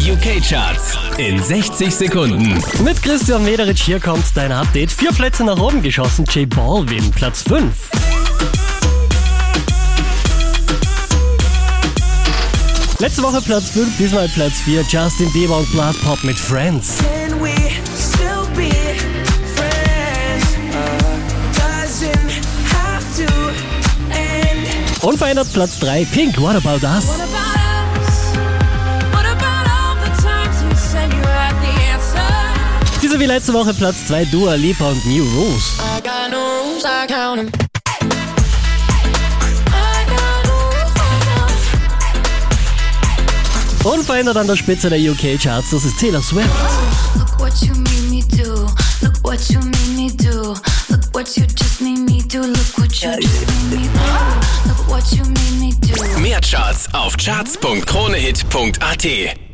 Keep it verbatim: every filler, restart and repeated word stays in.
U K-Charts in sechzig Sekunden. Mit Christian Mederitsch hier kommt dein Update. Vier Plätze nach oben geschossen, J Balvin, Platz fünf. Letzte Woche Platz fünf, diesmal Platz vier, Justin Bieber und Blood Pop mit Friends. Unverändert Platz drei, Pink, What About Us. Diese wie letzte Woche Platz zwei, Dua Lipa und New Rules. Unverändert an der Spitze der U K-Charts, das ist Taylor Swift. Mehr Charts auf charts punkt kronehit punkt at.